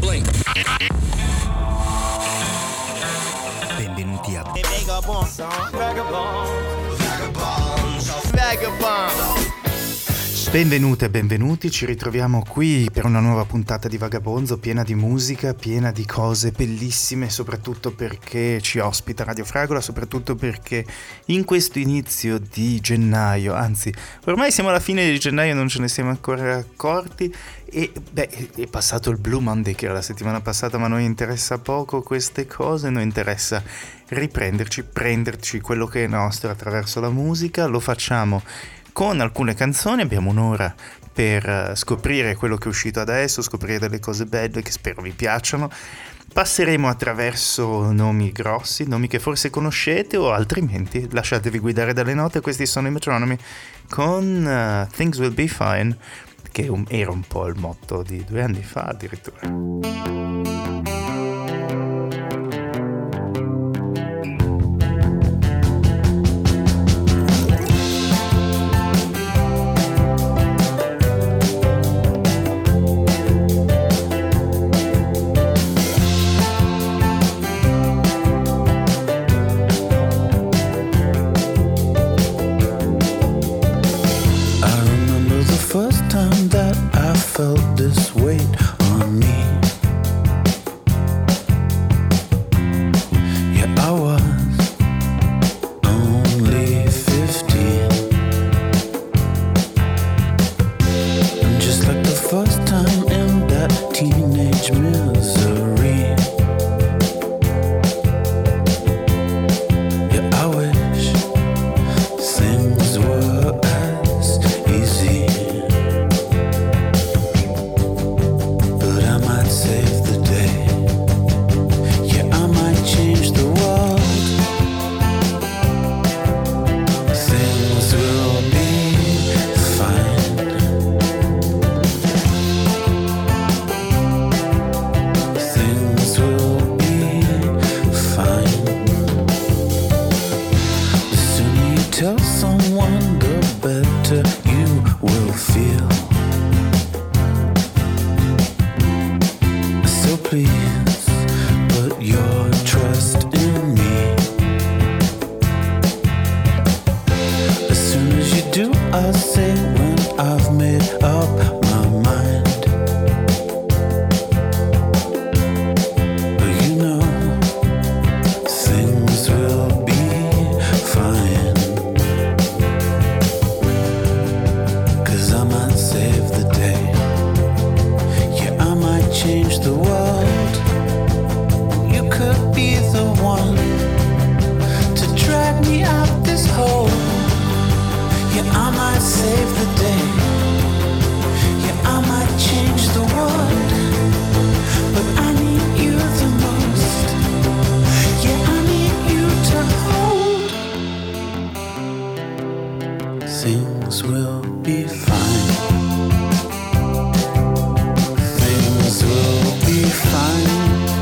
Benvenuti a Benvenute e benvenuti, ci ritroviamo qui per una nuova puntata di Vagabonzo, piena di musica, piena di cose bellissime, soprattutto perché ci ospita Radio Fragola, soprattutto perché in questo inizio di gennaio, anzi ormai siamo alla fine di gennaio, non ce ne siamo ancora accorti, e è passato il Blue Monday che era la settimana passata, ma a noi interessa poco queste cose, noi interessa riprenderci, prenderci quello che è nostro attraverso la musica, lo facciamo con alcune canzoni, abbiamo un'ora per scoprire quello che è uscito adesso, scoprire delle cose belle che spero vi piacciono. Passeremo attraverso nomi grossi, nomi che forse conoscete o altrimenti lasciatevi guidare dalle note. Questi sono i Metronomy con Things Will Be Fine, che era un po' il motto di 2 anni fa addirittura. Felt this weight on me. Yeah, I was only 15, and just like the first time in that teenage misery. Yeah, I wish things were as easy. Save the day. Yeah, I might change the world. Things will be fine. Things will be fine. The sooner you tell someone, the better you will feel. So please put your trust in me. As soon as you do, I'll say when I've made up my mind. But you know, things will be fine. 'Cause I might save the day. Yeah, I might change the world. You could be the one to drag me out this hole. Yeah, I might save the day. Yeah, I might change the world. But I need you the most. Yeah, I need you to hold. Things will be fine. Things will be fine.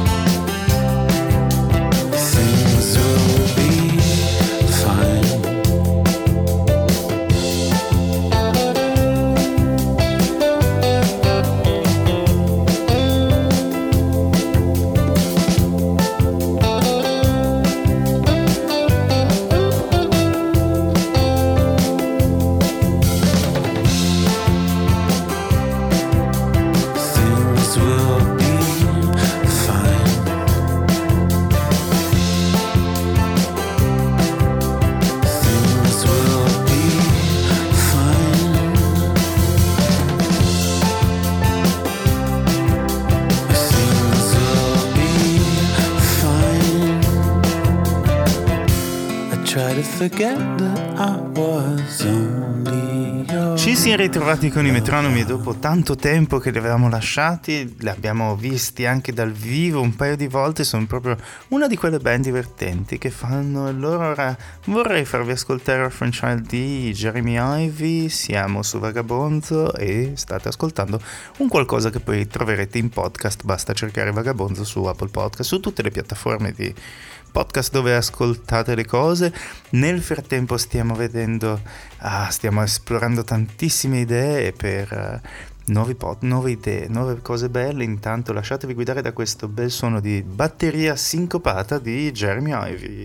Things will be fine. Ci siamo ritrovati con i Metronomi dopo tanto tempo che li avevamo lasciati, li abbiamo visti anche dal vivo un paio di volte, sono proprio una di quelle band divertenti che fanno il loro. Ora vorrei farvi ascoltare Orphan Child di Jeremy Ivy, siamo su Vagabonzo e state ascoltando un qualcosa che poi troverete in podcast, basta cercare Vagabonzo su Apple Podcast, su tutte le piattaforme di podcast dove ascoltate le cose. Nel frattempo stiamo esplorando tantissime idee per nuove idee, nuove cose belle. Intanto lasciatevi guidare da questo bel suono di batteria sincopata di Jeremy Ivy.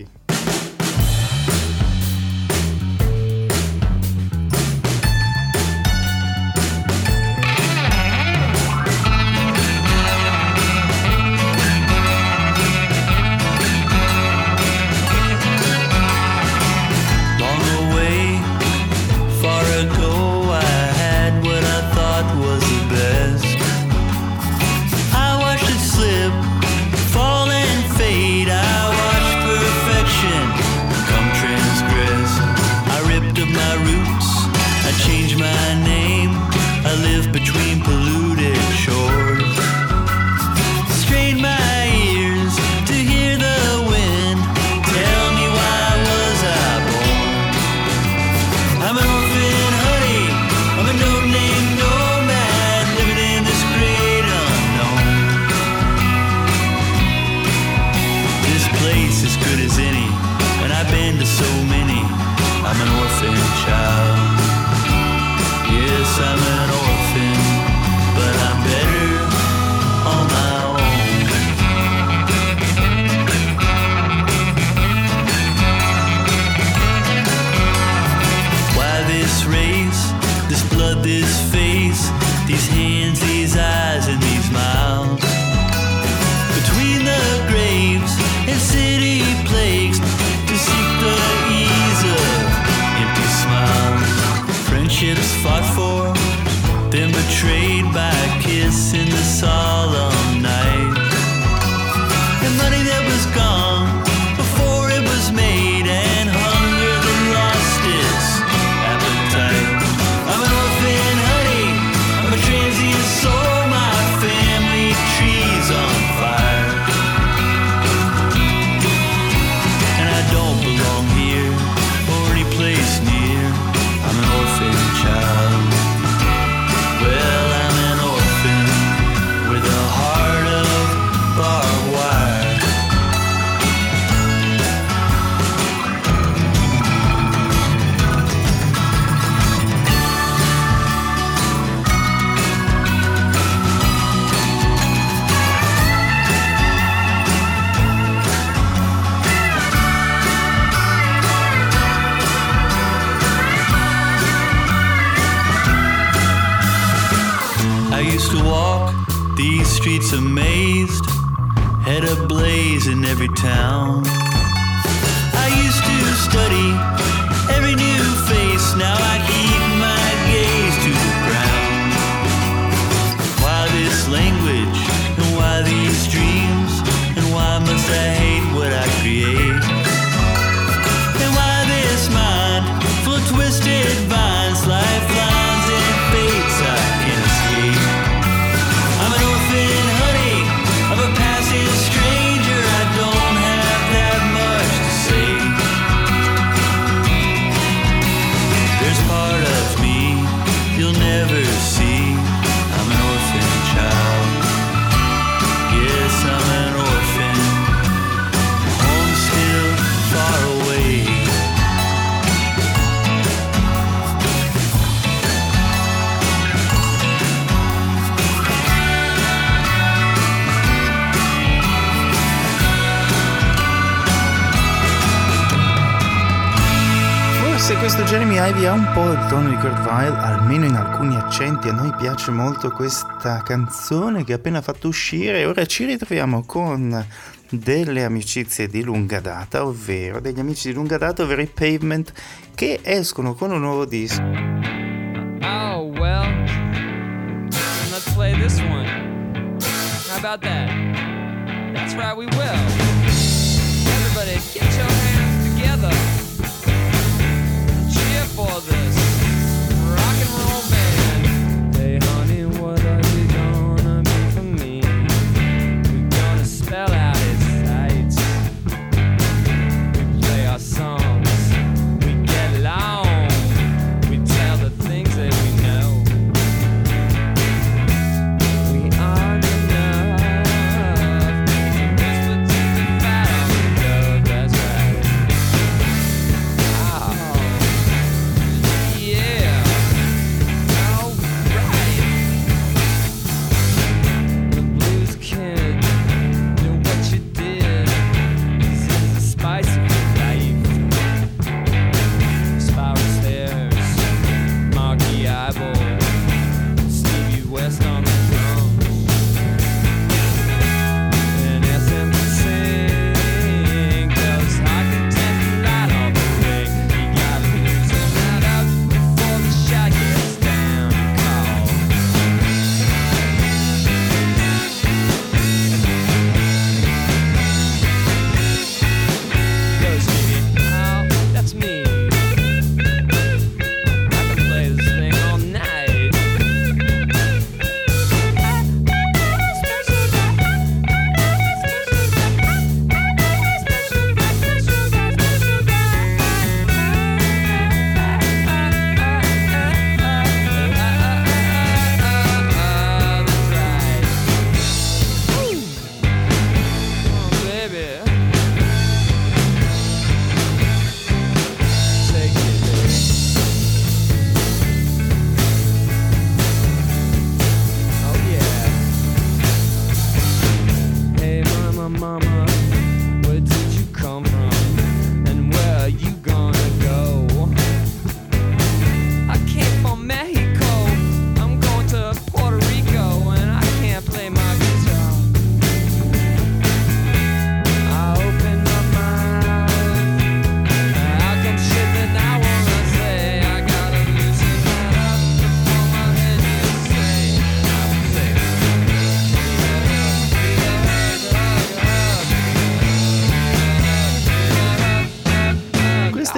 Streets amazed, head ablaze in every town. I used to study every new face, now I keep my gaze to the ground. Why this language, and why these dreams, and why must I hate what I create? And why this mind full of twisted vines, lifelines and fates I can't escape? I'm an orphan, honey, of a passive stranger. I don't have that much to say. There's part of me you'll never see. I'm an orphan child. Yes, I'm an orphan. Home still far away. Se questo Jeremy Ivy ha un po' il tono di Kurt Weill, almeno in alcuni accenti, a noi piace molto questa canzone che ha appena fatto uscire, e ora ci ritroviamo con delle amicizie di lunga data, ovvero degli amici di lunga data, ovvero i Pavement, che escono con un nuovo disco. Oh, well, let's play this one. How about that? That's right, we will. Everybody, get your hands together. For this rock and roll band. Hey honey, what are you gonna be for me? We're gonna spell out his sights. We play our songs, we get along, we tell the things that we know. We aren't enough. Whisper to the fat on the road, that's right. Oh.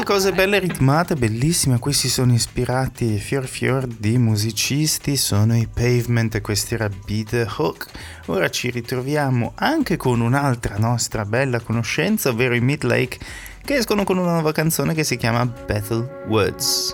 cose belle ritmate, bellissime, a cui si sono ispirati fior di musicisti, sono i Pavement e questi era Be The Hook. Ora ci ritroviamo anche con un'altra nostra bella conoscenza, ovvero i Midlake, che escono con una nuova canzone che si chiama Bethel Woods.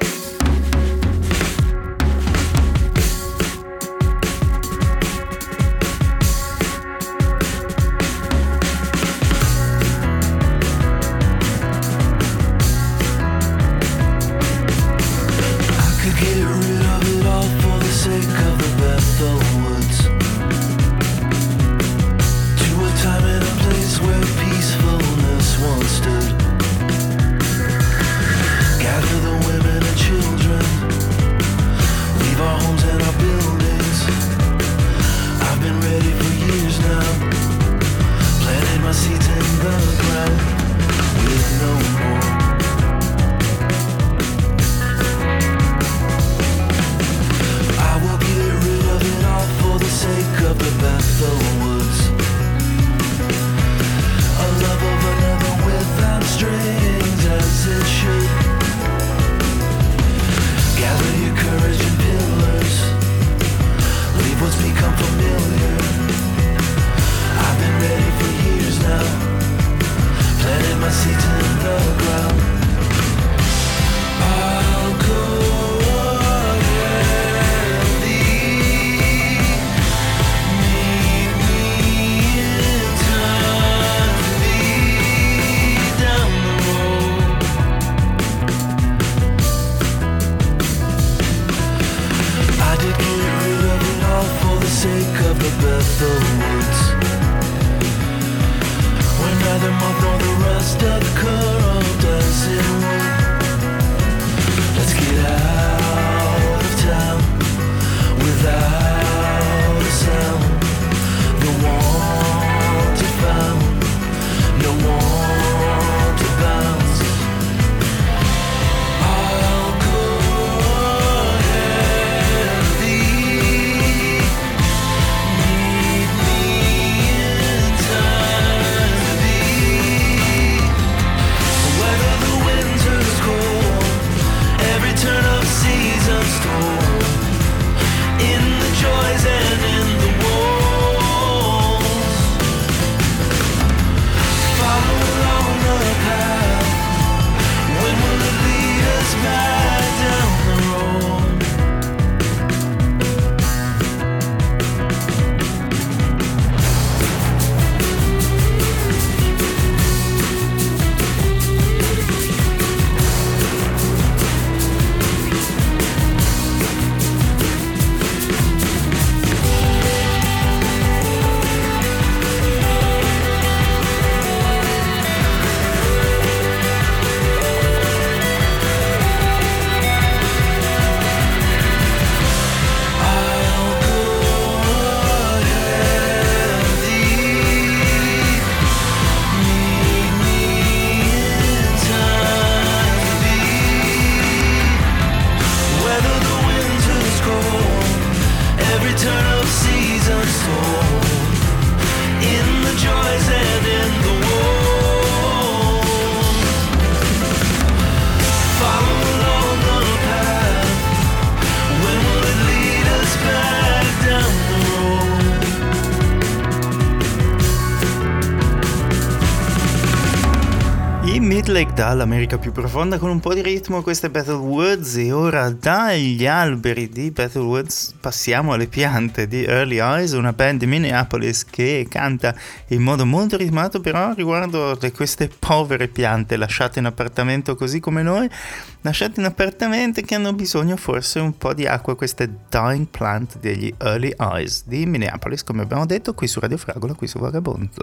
Midlake dall'America più profonda con un po' di ritmo, queste Bethel Woods, e ora dagli alberi di Bethel Woods passiamo alle piante di Early Eyes, una band di Minneapolis che canta in modo molto ritmato, però riguardo queste povere piante lasciate in appartamento così come noi, lasciate in appartamenti che hanno bisogno forse un po' di acqua, queste Dying Plant degli Early Eyes di Minneapolis, come abbiamo detto qui su Radio Fragola, qui su Vagabondo.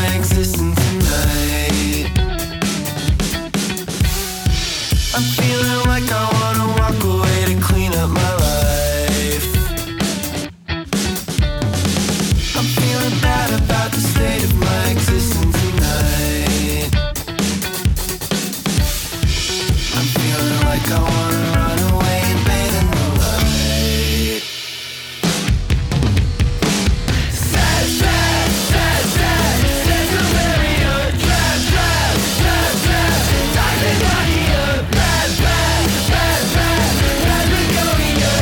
I'm feeling I wanna run away and bathe in the light. Sad, sad, sad, sad, Centralia. Trap, trap, trap, trap, Tasmania. Bad, bad, bad, bad, Patagonia.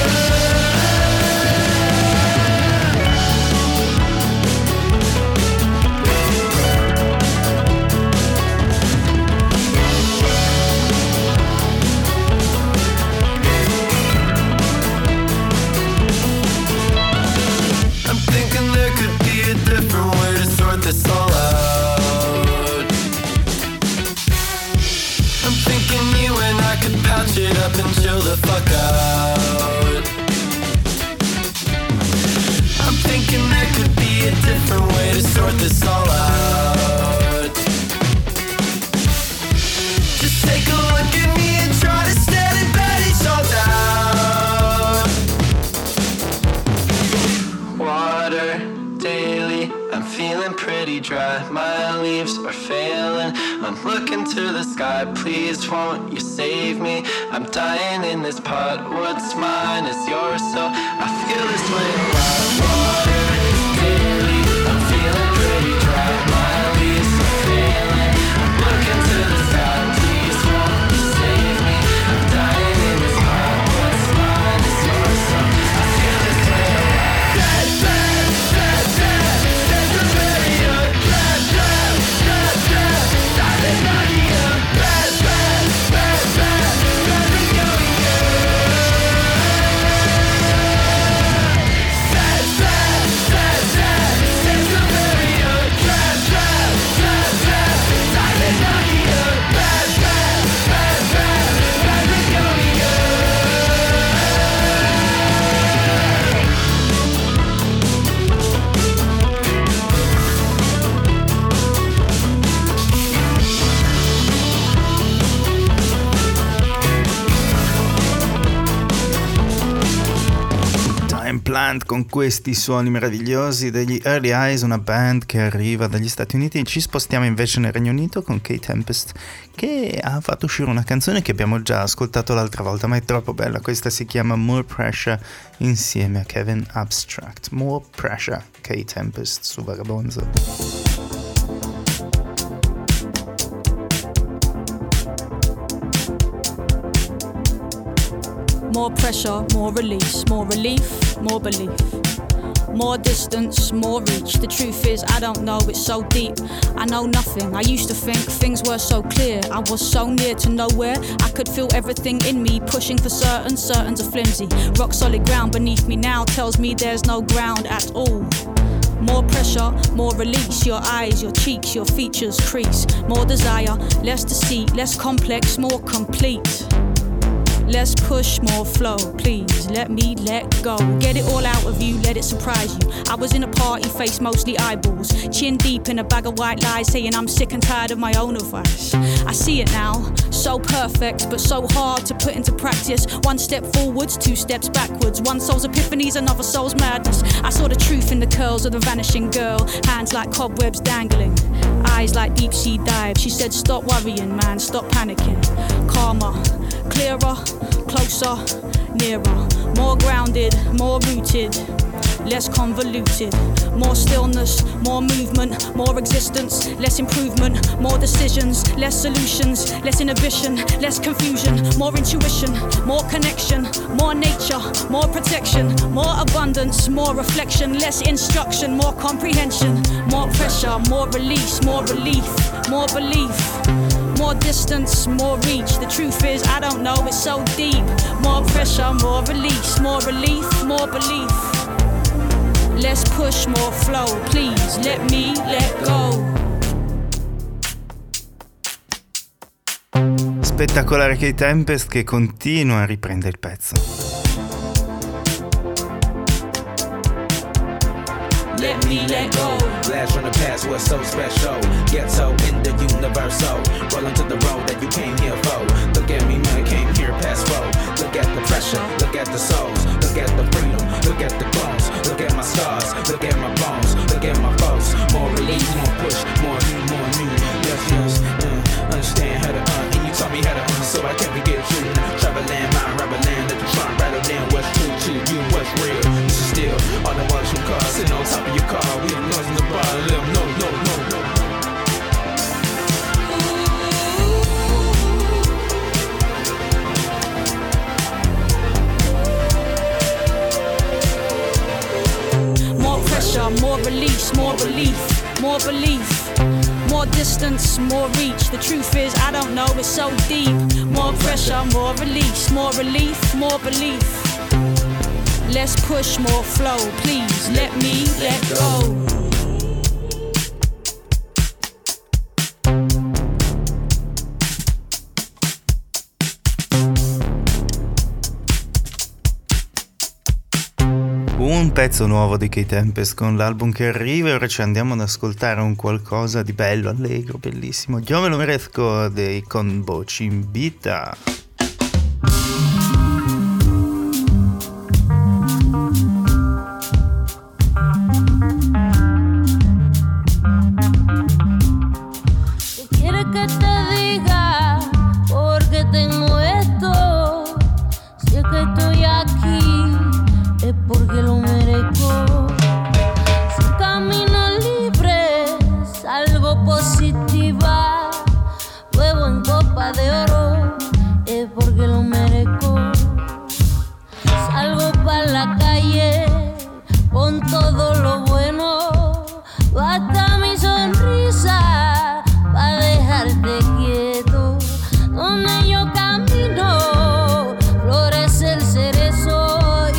I'm thinking there could be a different way to sort this all out. I'm thinking you and I could patch it up and chill the fuck out. I'm thinking there could be a different way to sort this all out. Just take a look at me and try to stand it better, it's all down. Water daily, I'm feeling pretty dry. My leaves are failing, I'm looking to the sky. Please won't you save me? I'm dying in this pot. What's mine is yours, so I feel this way a lot. Water daily, I'm feeling pretty dry. My leaves are failing, I'm looking to the sky. Please won't you save me? I'm dying in this pot. What's mine is yours, so I feel this way a lot. Sad, sad, sad, sad, Centralia. Trap, trap, trap, trap, Tasmania. Bad, bad, bad, bad, Patagonia. Sad, sad, sad, sad, Centralia. Trap, trap, trap, trap, Tasmania. Bad, bad, bad, bad, Patagonia. Time Plant con questi suoni meravigliosi degli Early Eyes, una band che arriva dagli Stati Uniti. Ci spostiamo invece nel Regno Unito con Kate Tempest, che ha fatto uscire una canzone che abbiamo già ascoltato l'altra volta, ma è troppo bella. Questa si chiama More Pressure insieme a Kevin Abstract. More Pressure, Kate Tempest su Vagabonzo. More pressure, more release, more relief, more belief. More distance, more reach. The truth is, I don't know, it's so deep. I know nothing. I used to think things were so clear. I was so near to nowhere. I could feel everything in me, pushing for certain. Certain's are flimsy. Rock solid ground beneath me now tells me there's no ground at all. More pressure, more release. Your eyes, your cheeks, your features crease. More desire, less deceit, less complex, more complete. Less push, more flow, please let me let go. Get it all out of you, let it surprise you. I was in a party, face mostly eyeballs, chin deep in a bag of white lies, saying I'm sick and tired of my own advice. I see it now, so perfect, but so hard to put into practice. One step forwards, two steps backwards. One soul's epiphanies, another soul's madness. I saw the truth in the curls of the vanishing girl. Hands like cobwebs dangling, eyes like deep sea dives. She said stop worrying man, stop panicking. Calmer, clearer, closer, nearer. More grounded, more rooted, less convoluted. More stillness, more movement, more existence, less improvement. More decisions, less solutions, less inhibition, less confusion. More intuition, more connection, more nature, more protection. More abundance, more reflection, less instruction, more comprehension. More pressure, more release, more relief, more belief. More distance, more reach. The truth is, I don't know, it's so deep. More pressure, more release, more relief, more belief. Less push, more flow. Please let me let go. Spettacolare Kate Tempest che continua a riprendere il pezzo. Let me let go. Blast from the past was so special. Ghetto in the universal. Rolling to the road that you came here for. Look at me, man, I came here past road. Look at the pressure, look at the souls. Look at the freedom, look at the clones. Look at my scars, look at my bones. Look at my foes. More release, more push, more you, more new. Yes, yes, understand how to and you taught me how to so I can't forget you. belief, more belief. More distance, more reach. The truth is, I don't know, it's so deep. More pressure, more release. More relief, more belief. Less push, more flow. Please let me let go. Un pezzo nuovo di K-Tempest con l'album che arriva e ora ci andiamo ad ascoltare un qualcosa di bello, allegro, bellissimo. Io me lo merezco dei Combo Chimbita. ¿Quieres que te diga por qué tengo esto? Si es que estoy aquí es porque lo merezco. Si camino libre, salgo positiva. Bebo en copa de oro, es porque lo merezco. Salgo pa' la calle con todo lo bueno. Basta mi sonrisa pa' dejarte quieto. Donde yo camino, florece el cerezo.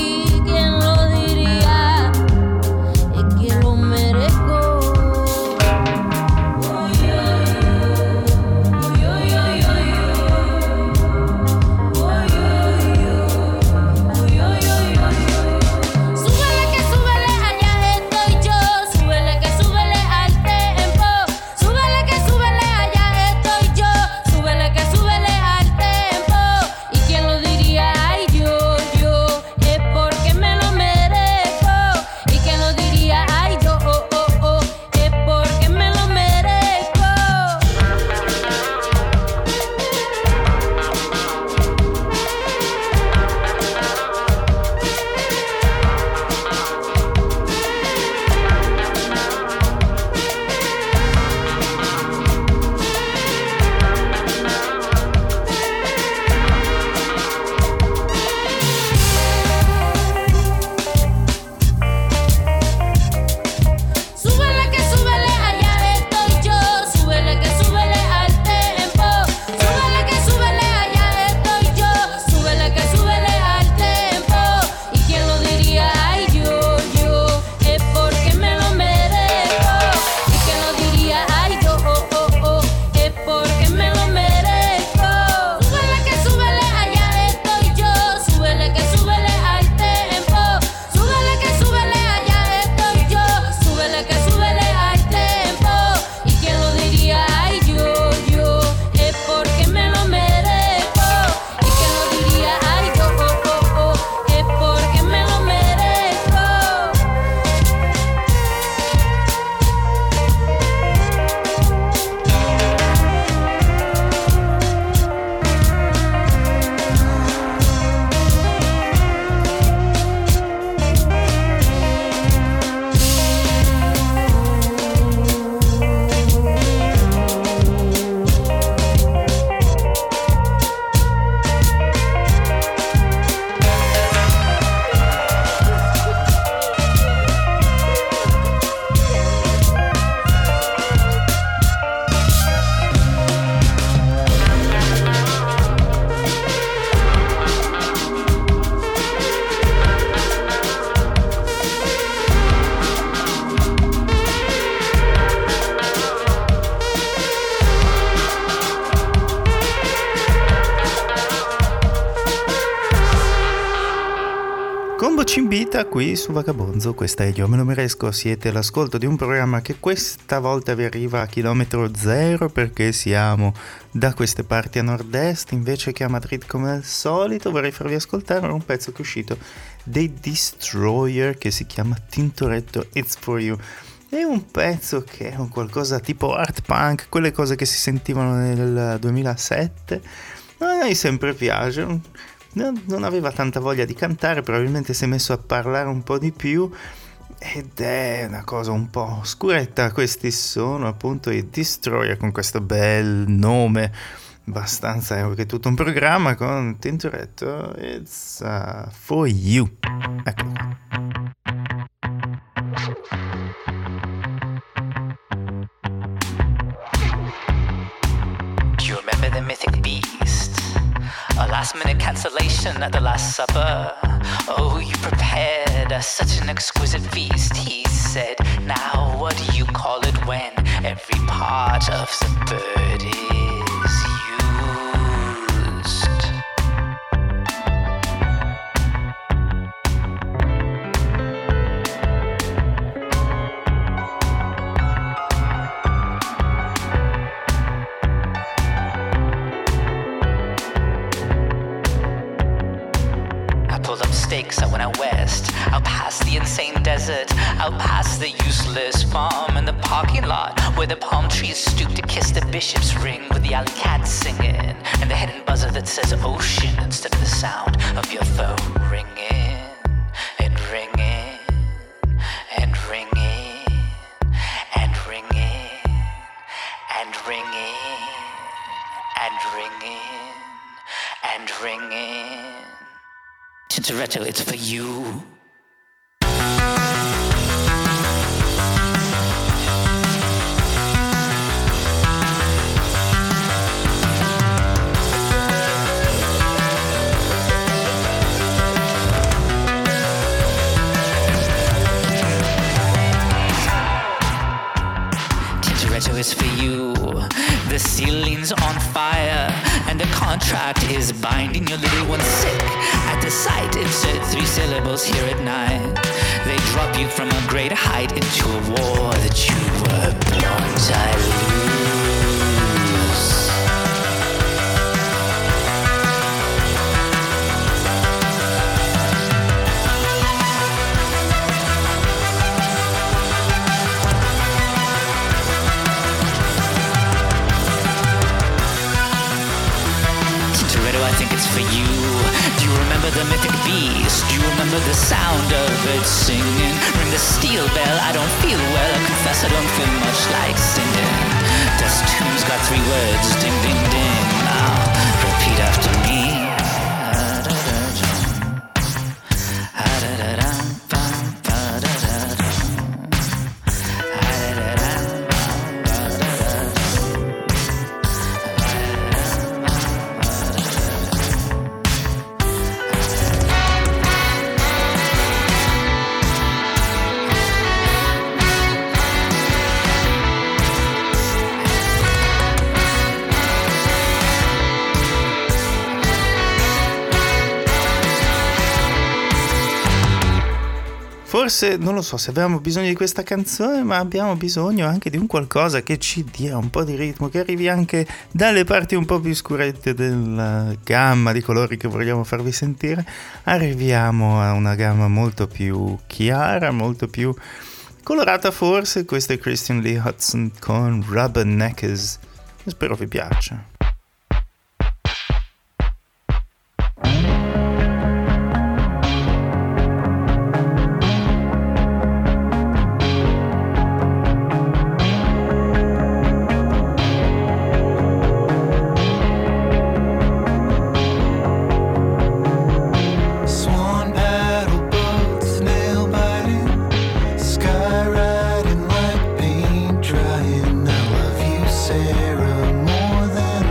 Cimbita qui su Vagabonzo, questa è Io me lo meresco, siete all'ascolto di un programma che questa volta vi arriva a chilometro zero perché siamo da queste parti a nord-est invece che a Madrid come al solito. Vorrei farvi ascoltare un pezzo che è uscito dei Destroyer che si chiama Tintoretto It's For You. È un pezzo che è un qualcosa tipo art punk, quelle cose che si sentivano nel 2007. A me sempre piace. Non aveva tanta voglia di cantare, probabilmente si è messo a parlare un po' di più ed è una cosa un po' scuretta. Questi sono appunto i Destroyer con questo bel nome abbastanza, che è tutto un programma con Tintoretto It's For You. Eccolo qua. the mythic beast? A last minute cancellation at the Last Supper. Oh, you prepared such an exquisite feast. He said, now what do you call it when every part of the bird is used? I went out west, out past the insane desert, out past the useless farm and the parking lot where the palm trees stoop to kiss the bishop's ring with the alley cat singing and the hidden buzzer that says ocean instead of the sound of your phone ringing and ringing and ringing and ringing and ringing and ringing and ringing. Tintoretto, it's for you. Tintoretto is for you. The ceiling's on fire and the contract is binding your little one sick. At the sight, insert 3 syllables here at night. They drop you from a great height into a war that you were born to lose. I think it's for you. Do you remember the mythic beast? Do you remember the sound of it singing? Ring the steel bell, I don't feel well. I confess I don't feel much like singing. This tune's got 3 words, ding ding ding. Now repeat after me. Forse, non lo so se avevamo bisogno di questa canzone, ma abbiamo bisogno anche di un qualcosa che ci dia un po' di ritmo, che arrivi anche dalle parti un po' più scurette della gamma di colori che vogliamo farvi sentire. Arriviamo a una gamma molto più chiara, molto più colorata forse. Questo è Christian Lee Hudson con Rubberneckers. Spero vi piaccia. Sarah, more than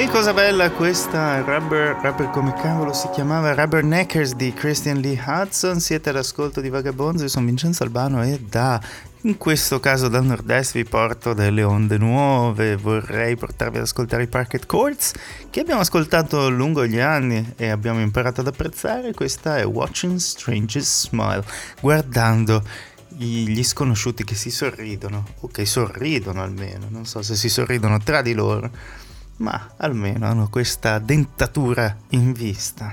Cosa bella questa Rubber come cavolo si chiamava? Rubberneckers di Christian Lee Hudson. Siete all'ascolto di Vagabonzo, io sono Vincenzo Albano e in questo caso dal nord-est vi porto delle onde nuove. Vorrei portarvi ad ascoltare i Parquet Courts che abbiamo ascoltato lungo gli anni e abbiamo imparato ad apprezzare. Questa è Watching Strangers Smile, guardando gli sconosciuti che si sorridono, o che sorridono almeno, non so se si sorridono tra di loro, ma almeno hanno questa dentatura in vista.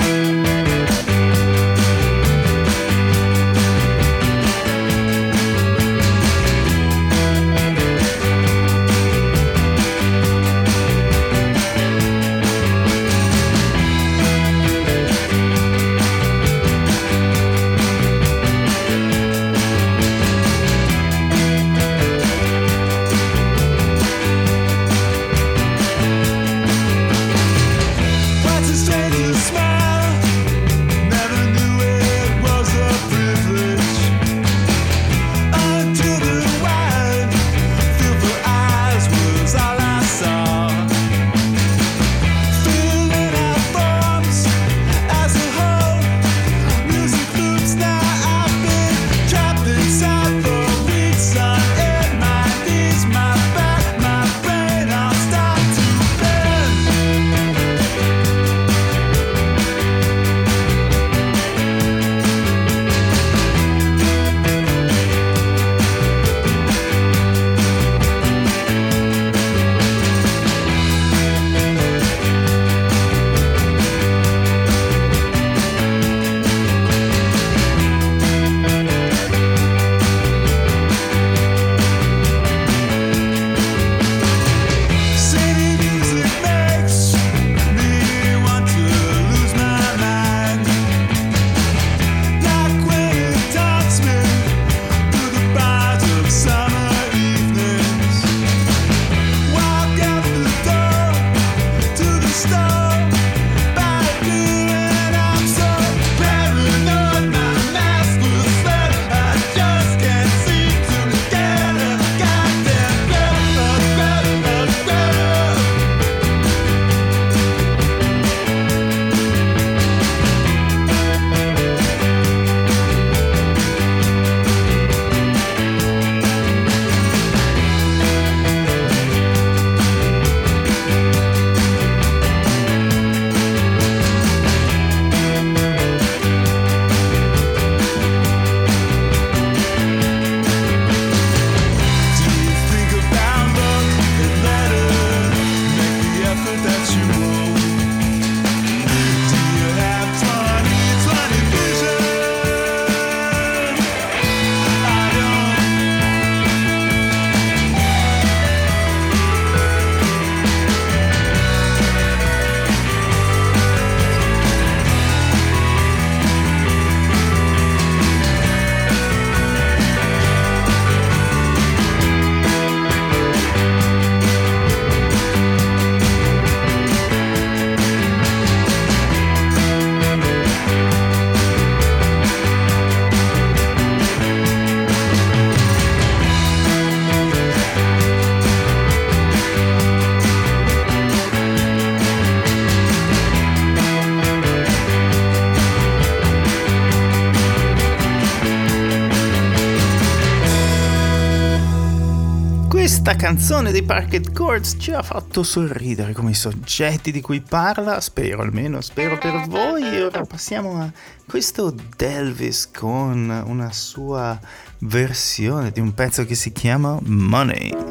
Questa canzone dei Parquet Courts ci ha fatto sorridere come i soggetti di cui parla, spero per voi. E ora passiamo a questo Delvis con una sua versione di un pezzo che si chiama Money.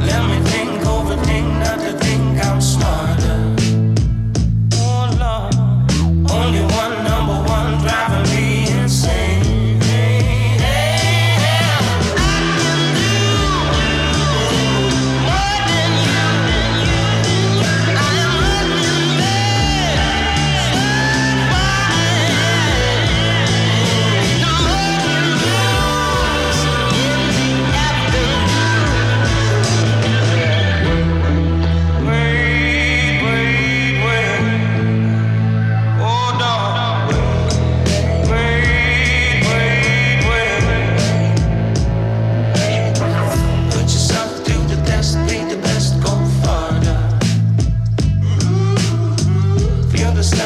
Think, overthink, not to think I'm smarter. Oh Lord.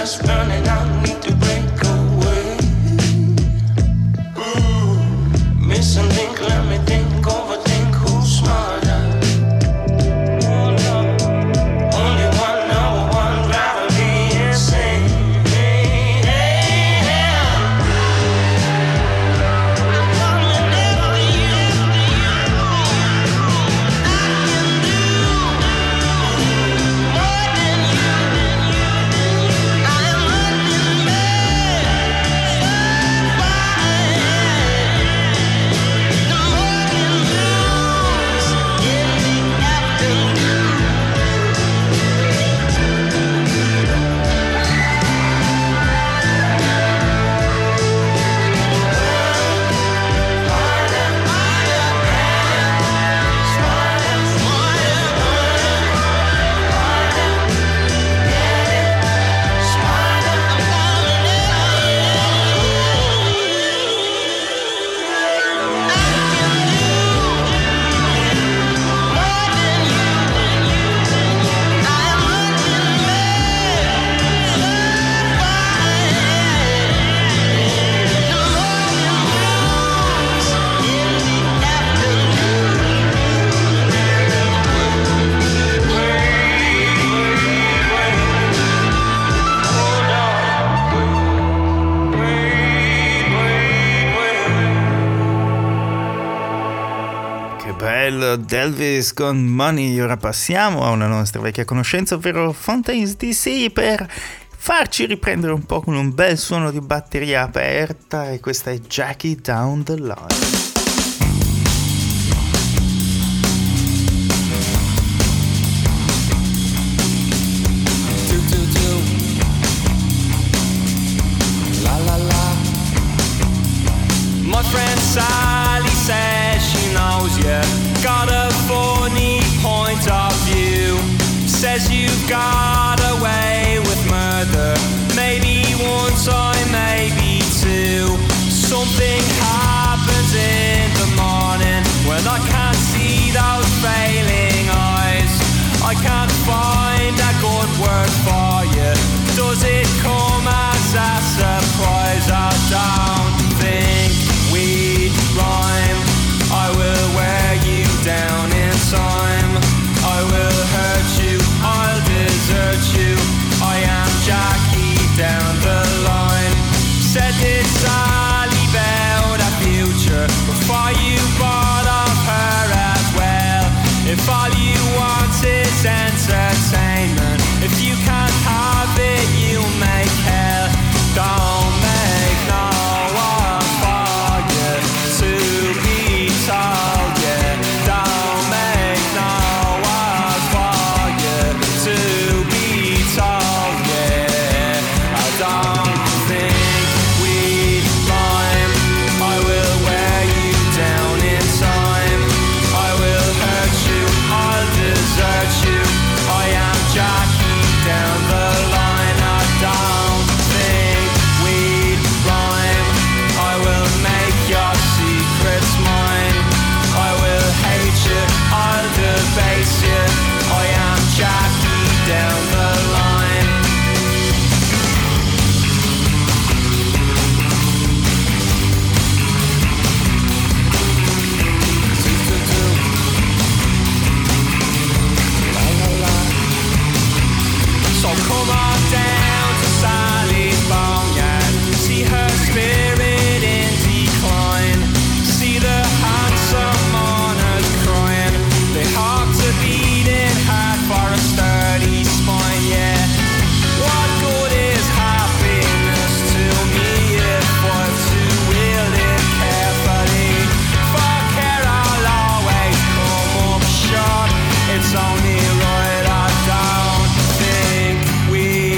just running out, need to break away. Missing link, let me think, overthink, who's smarter? Oh no, only one, number one, gravity insane. Hey, hey, hey. I'm coming after you. I can do more than you. I am running mad. The more you lose in the afternoon. Che bello, Delvis con Money. Ora passiamo a una nostra vecchia conoscenza, ovvero Fontaines DC, per farci riprendere un po' con un bel suono di batteria aperta, e questa è Jackie Down the Line. My friend Sally says she knows you got a funny point of view. Says you got away with murder, maybe one time, maybe two. Something happens in the morning when I can't see those failing eyes. I can't find a good word for you. Does it come as a surprise? I don't think we rhyme. I will wear you down in time. I will hurt you, I'll desert you. I am Jackie down the line. Said this Sally about a future before you bought off her as well. If all you want is entertainment, if you can't have it, you make hell. Don't make no one for you to be told, yeah. Don't make no one for you to be told, yeah. I don't think we rhyme. I will wear you down in time. I will hurt you, I'll desert you. I am Jackie down the line. I don't think we rhyme. I will make your secrets mine. I will hate you, I'll debase you. I am Jackie down the line. So come on down to Sally's boneyard. See her spirit in decline. See the handsome mourners crying. They hope to beating hard for a sturdy spine, yeah. What good is happiness to me if I'm to wield it carefully? For care I'll always come up short. It's only right I don't think we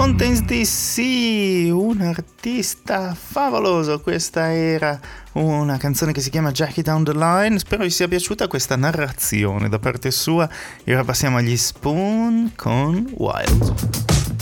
Fontaines DC, un artista favoloso. Questa era una canzone che si chiama Jackie Down the Line. Spero vi sia piaciuta questa narrazione da parte sua. E ora passiamo agli Spoon con Wild.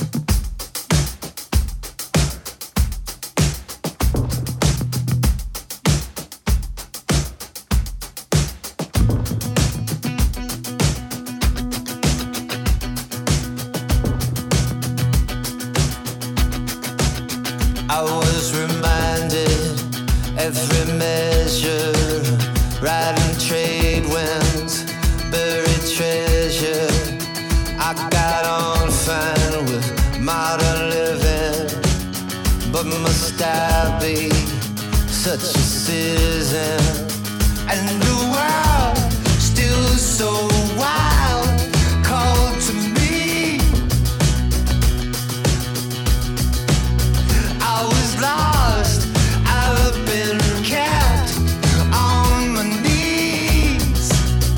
I was reminded every measure, riding trade winds, buried treasure. I got on fine with modern living, but must I be such a citizen? And the world still so wild, called to me. I was lost, I've been kept on my knees.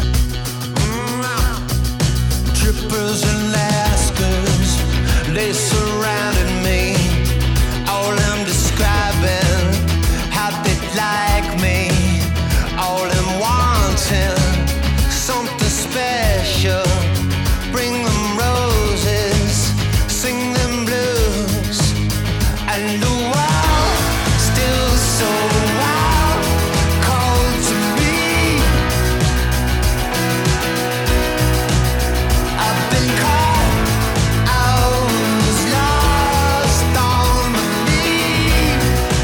Trippers and Lascars, they surrounded me. All them describing how they'd like me. All them wanting something special. Bring them roses, sing them blues. And the world still so wild, called to me. I've been caught, I was lost on my knees.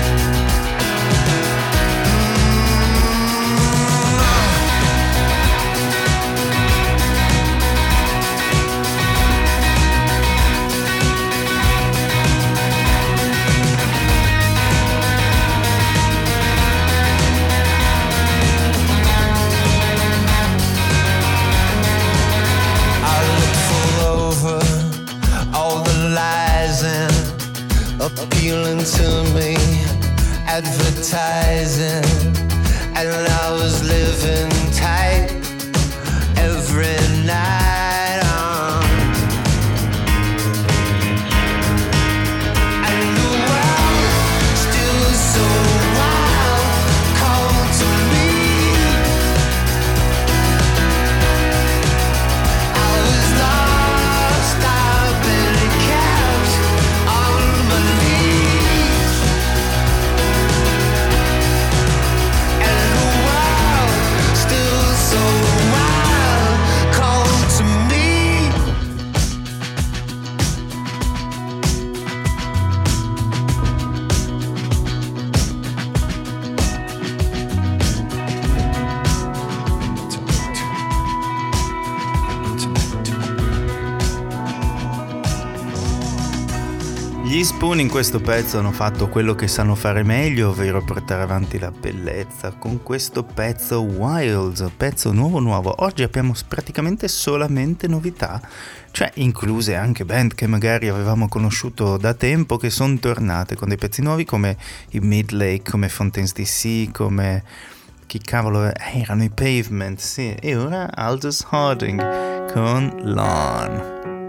I looked full over all the lies and appealing to me, advertising, and I was living tight every night. And the world still so wild, called to me. I was lost, I've been kept on my knees. And the world still so wild, called to me. Gli Spoon in questo pezzo hanno fatto quello che sanno fare meglio, ovvero portare avanti la bellezza con questo pezzo Wild, pezzo nuovo. Oggi abbiamo praticamente solamente novità, cioè incluse anche band che magari avevamo conosciuto da tempo, che sono tornate con dei pezzi nuovi come i Midlake, come Fontaines DC, come chi cavolo erano i Pavement, sì, e ora Aldous Harding con Lawn.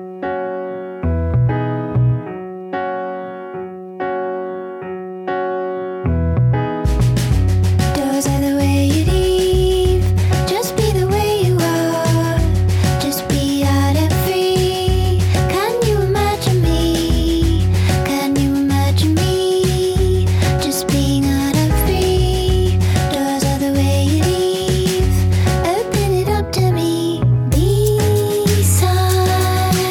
Doors are the way you leave. Just be the way you are. Just be out and free. Can you imagine me? Can you imagine me? Just being out and free. Doors are the way you leave. Open it up to me. Beside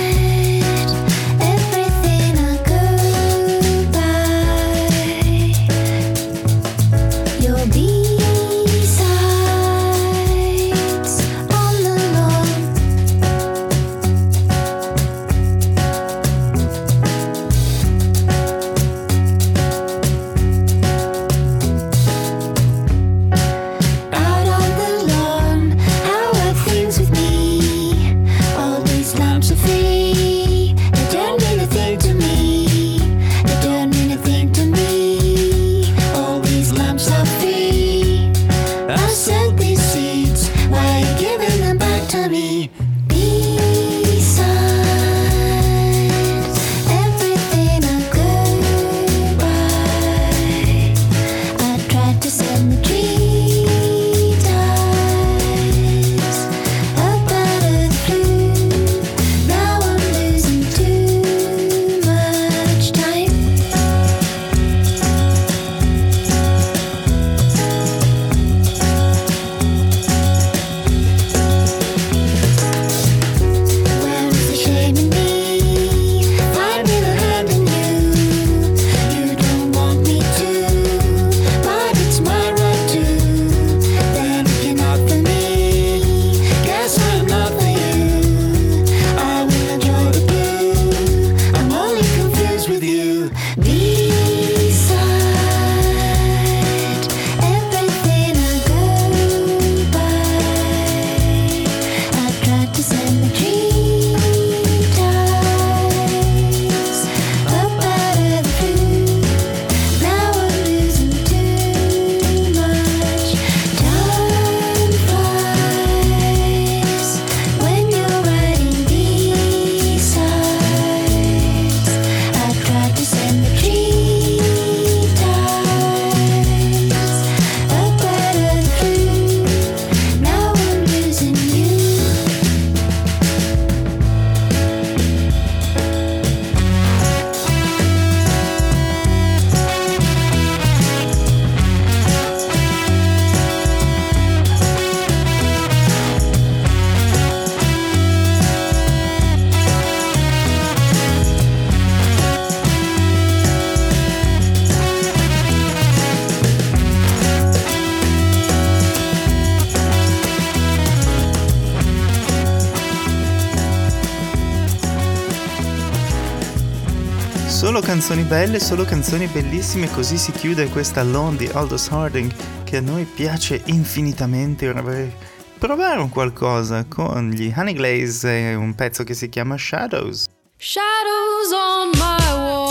Solo canzoni belle, solo canzoni bellissime, così si chiude questa Alone di Aldous Harding che a noi piace infinitamente. Ora vorrei provare un qualcosa con gli Honey Glaze e un pezzo che si chiama Shadows. Shadows on my wall,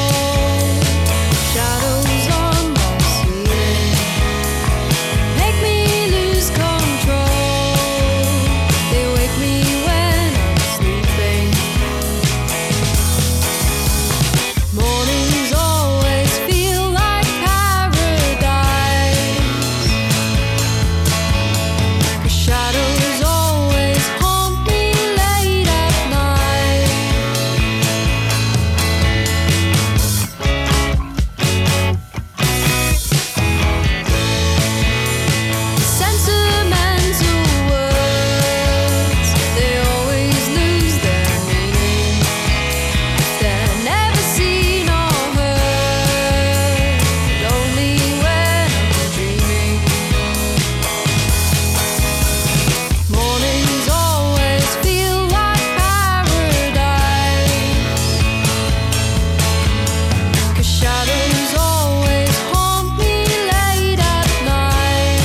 shadows on my ceiling, make me lose control, they wake me when I'm sleeping. Mornings always feel like paradise, 'cause shadows always haunt me late at night. Sentimental words, they always lose their meaning. They're never seen or heard, only when I'm dreaming. Mornings always feel like paradise, 'cause shadows always haunt me late at night.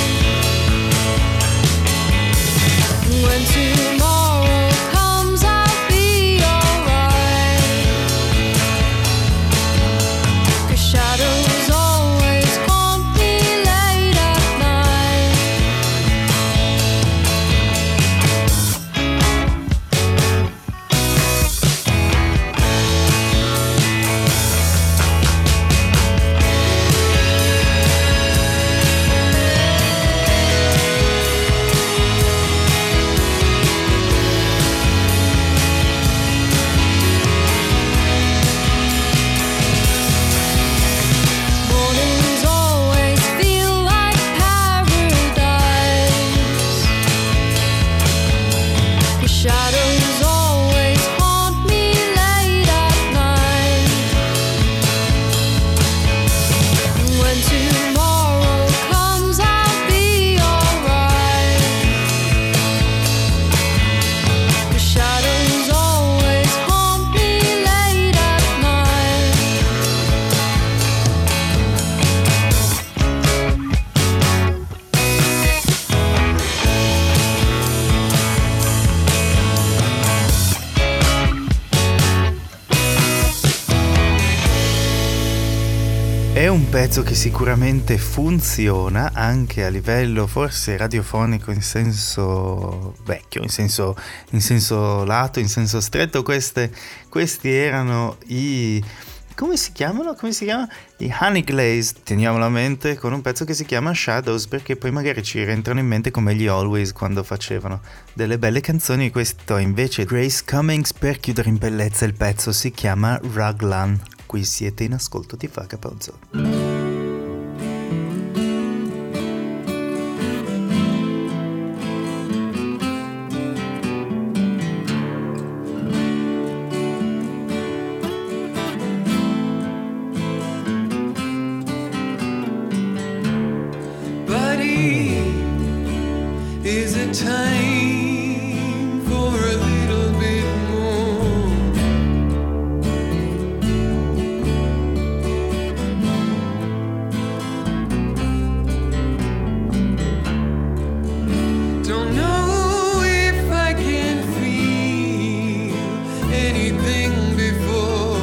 When tomorrow comes, I'll be alright, 'cause shadows always haunt me late at night. Mornings always feel like paradise, 'cause shadows always haunt me late at night. When tomorrow comes, I'll be alright, 'cause shadows always haunt me late at night. È un pezzo che sicuramente funziona anche a livello forse radiofonico in senso vecchio, in senso lato, in senso stretto. Questi erano i... come si chiamano? I Honey Glaze. Teniamolo a mente con un pezzo che si chiama Shadows, perché poi magari ci rientrano in mente come gli Always quando facevano delle belle canzoni. Questo invece Grace Cummings, per chiudere in bellezza il pezzo, si chiama Raglan. Qui siete in ascolto di Vagabonzo. Buddy, is it time for a little bit more? Don't know if I can feel anything before.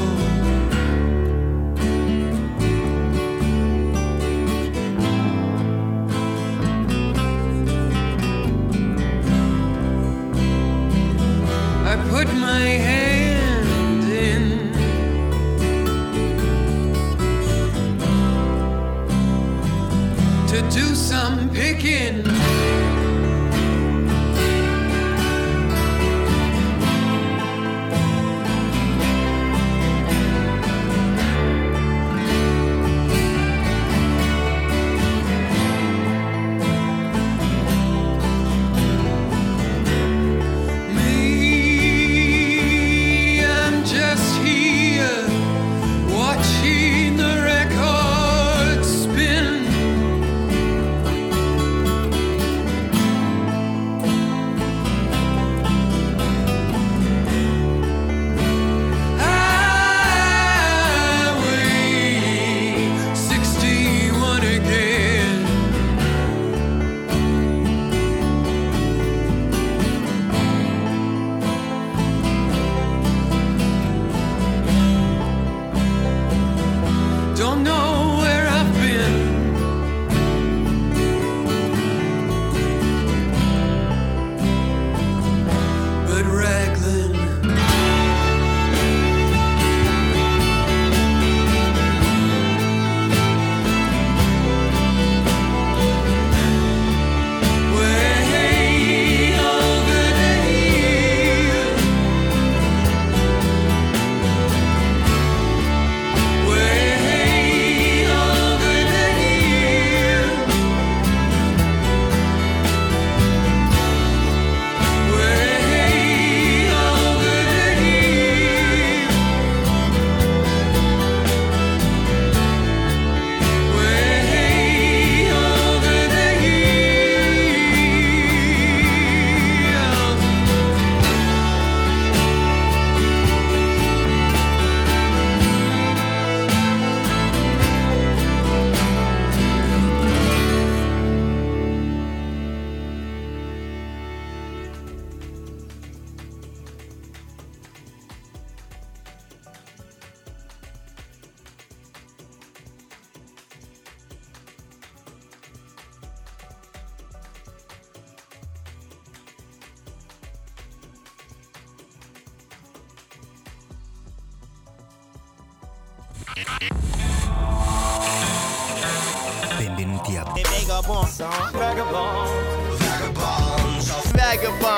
I put my hand in to do some picking. Me, I'm just here watching the record spin. Benvenuti a Vagabonds.